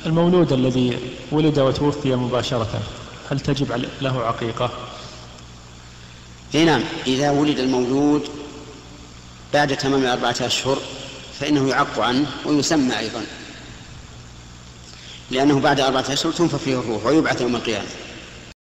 المولود الذي ولد وتوفي مباشرة هل تجب له عقيقة؟ نعم، إذا ولد المولود بعد تمام 4 أشهر فإنه يعق عنه ويسمى أيضا، لأنه بعد 4 أشهر تنفخ فيه الروح ويبعث يوم القيامة.